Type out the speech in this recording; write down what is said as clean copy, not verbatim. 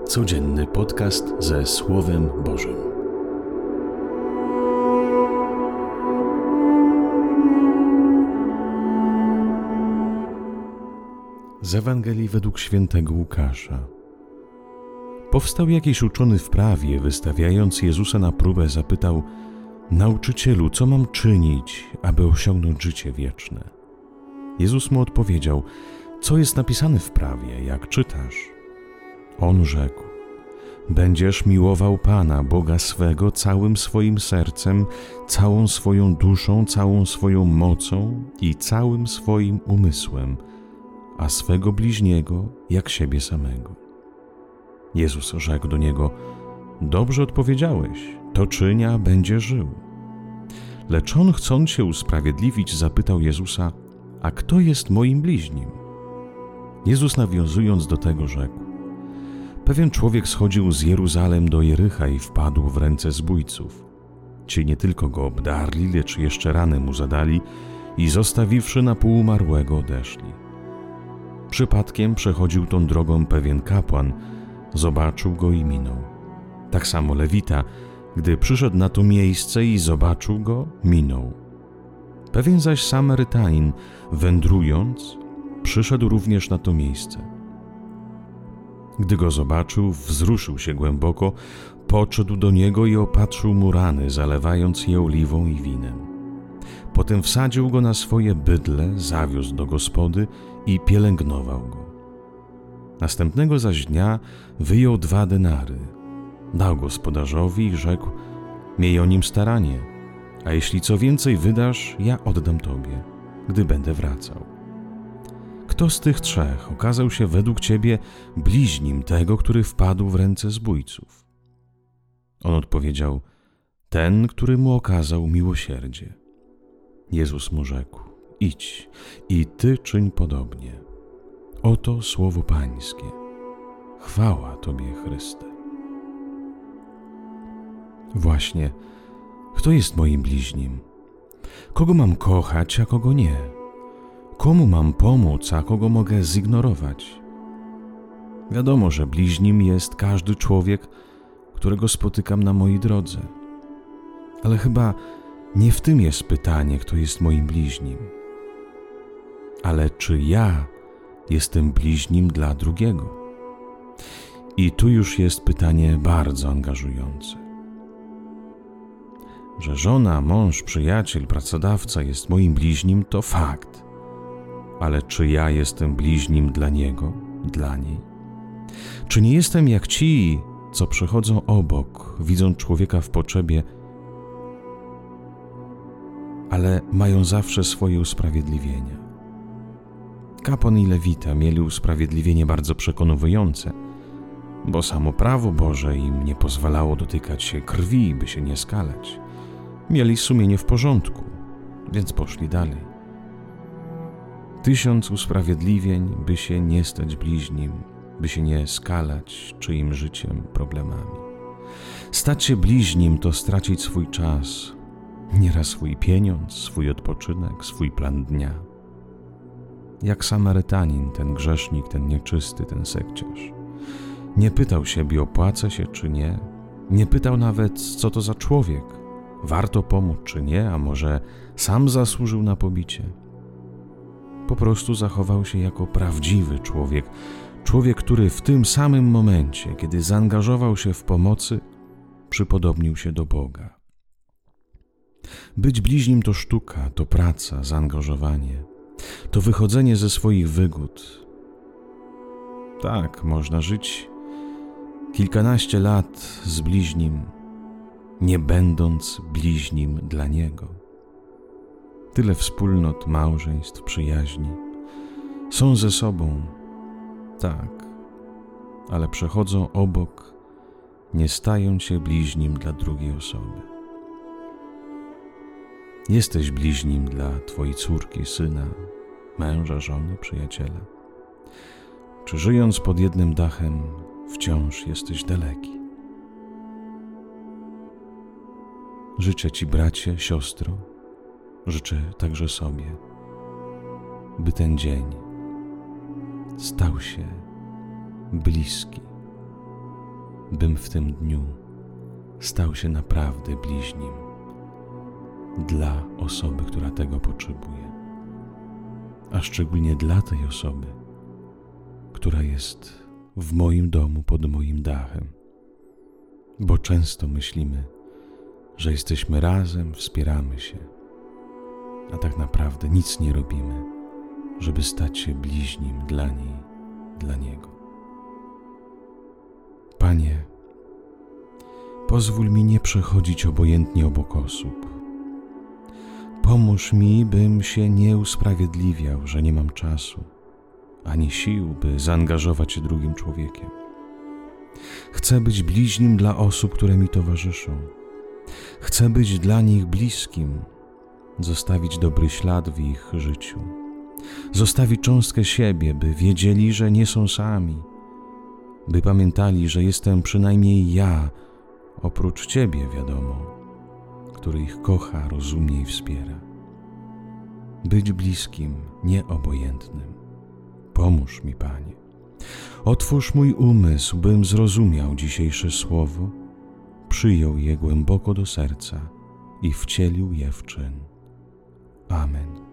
Codzienny podcast ze Słowem Bożym. Z Ewangelii według świętego Łukasza. Powstał jakiś uczony w prawie, wystawiając Jezusa na próbę, zapytał: Nauczycielu, co mam czynić, aby osiągnąć życie wieczne? Jezus mu odpowiedział: Co jest napisane w prawie, jak czytasz? On rzekł: Będziesz miłował Pana, Boga swego, całym swoim sercem, całą swoją duszą, całą swoją mocą i całym swoim umysłem, a swego bliźniego jak siebie samego. Jezus rzekł do niego: Dobrze odpowiedziałeś, to czyń, a będziesz żył. Lecz on, chcąc się usprawiedliwić, zapytał Jezusa: A kto jest moim bliźnim? Jezus, nawiązując do tego, rzekł: Pewien człowiek schodził z Jeruzalem do Jericha i wpadł w ręce zbójców. Ci nie tylko go obdarli, lecz jeszcze rany mu zadali i zostawiwszy na pół umarłego, odeszli. Przypadkiem przechodził tą drogą pewien kapłan, zobaczył go i minął. Tak samo Lewita, gdy przyszedł na to miejsce i zobaczył go, minął. Pewien zaś Samarytanin, wędrując, przyszedł również na to miejsce. Gdy go zobaczył, wzruszył się głęboko, podszedł do niego i opatrzył mu rany, zalewając je oliwą i winem. Potem wsadził go na swoje bydlę, zawiózł do gospody i pielęgnował go. Następnego zaś dnia wyjął 2 denary, dał gospodarzowi i rzekł: Miej o nim staranie, a jeśli co więcej wydasz, ja oddam tobie, gdy będę wracał. Kto z tych 3 okazał się według ciebie bliźnim tego, który wpadł w ręce zbójców? On odpowiedział: Ten, który mu okazał miłosierdzie. Jezus mu rzekł: Idź i ty czyń podobnie. Oto słowo Pańskie. Chwała Tobie, Chryste. Właśnie, kto jest moim bliźnim? Kogo mam kochać, a kogo nie? Komu mam pomóc, a kogo mogę zignorować? Wiadomo, że bliźnim jest każdy człowiek, którego spotykam na mojej drodze. Ale chyba nie w tym jest pytanie, kto jest moim bliźnim. Ale czy ja jestem bliźnim dla drugiego? I tu już jest pytanie bardzo angażujące. Że żona, mąż, przyjaciel, pracodawca jest moim bliźnim, to fakt. Ale czy ja jestem bliźnim dla niego, dla niej? Czy nie jestem jak ci, co przechodzą obok, widzą człowieka w potrzebie, ale mają zawsze swoje usprawiedliwienia? Kapłan i Lewita mieli usprawiedliwienie bardzo przekonujące, bo samo prawo Boże im nie pozwalało dotykać się krwi, by się nie skalać. Mieli sumienie w porządku, więc poszli dalej. 1000 usprawiedliwień, by się nie stać bliźnim, by się nie skalać czyim życiem, problemami. Stać się bliźnim to stracić swój czas, nieraz swój pieniądz, swój odpoczynek, swój plan dnia. Jak Samarytanin, ten grzesznik, ten nieczysty, ten sekciarz. Nie pytał siebie, opłaca się czy nie. Nie pytał nawet, co to za człowiek. Warto pomóc czy nie, a może sam zasłużył na pobicie. Po prostu zachował się jako prawdziwy człowiek. Człowiek, który w tym samym momencie, kiedy zaangażował się w pomocy, przypodobnił się do Boga. Być bliźnim to sztuka, to praca, zaangażowanie. To wychodzenie ze swoich wygód. Tak, można żyć kilkanaście lat z bliźnim, nie będąc bliźnim dla niego. Tyle wspólnot, małżeństw, przyjaźni. Są ze sobą, tak, ale przechodzą obok, nie stają się bliźnim dla drugiej osoby. Jesteś bliźnim dla twojej córki, syna, męża, żony, przyjaciela? Czy żyjąc pod jednym dachem wciąż jesteś daleki? Życzę ci, bracie, siostro, życzę także sobie, by ten dzień stał się bliski bym w tym dniu stał się naprawdę bliźnim dla osoby, która tego potrzebuje, a szczególnie dla tej osoby, która jest w moim domu, pod moim dachem. Bo często myślimy, że jesteśmy razem, wspieramy się, a tak naprawdę nic nie robimy, żeby stać się bliźnim dla niej, dla niego. Panie, pozwól mi nie przechodzić obojętnie obok osób. Pomóż mi, bym się nie usprawiedliwiał, że nie mam czasu, ani sił, by zaangażować się drugim człowiekiem. Chcę być bliźnim dla osób, które mi towarzyszą. Chcę być dla nich bliskim, zostawić dobry ślad w ich życiu, zostawić cząstkę siebie, by wiedzieli, że nie są sami, by pamiętali, że jestem przynajmniej ja, oprócz Ciebie, wiadomo, który ich kocha, rozumie i wspiera. Być bliskim, nieobojętnym. Pomóż mi, Panie. Otwórz mój umysł, bym zrozumiał dzisiejsze słowo, przyjął je głęboko do serca i wcielił je w czyn. Amen.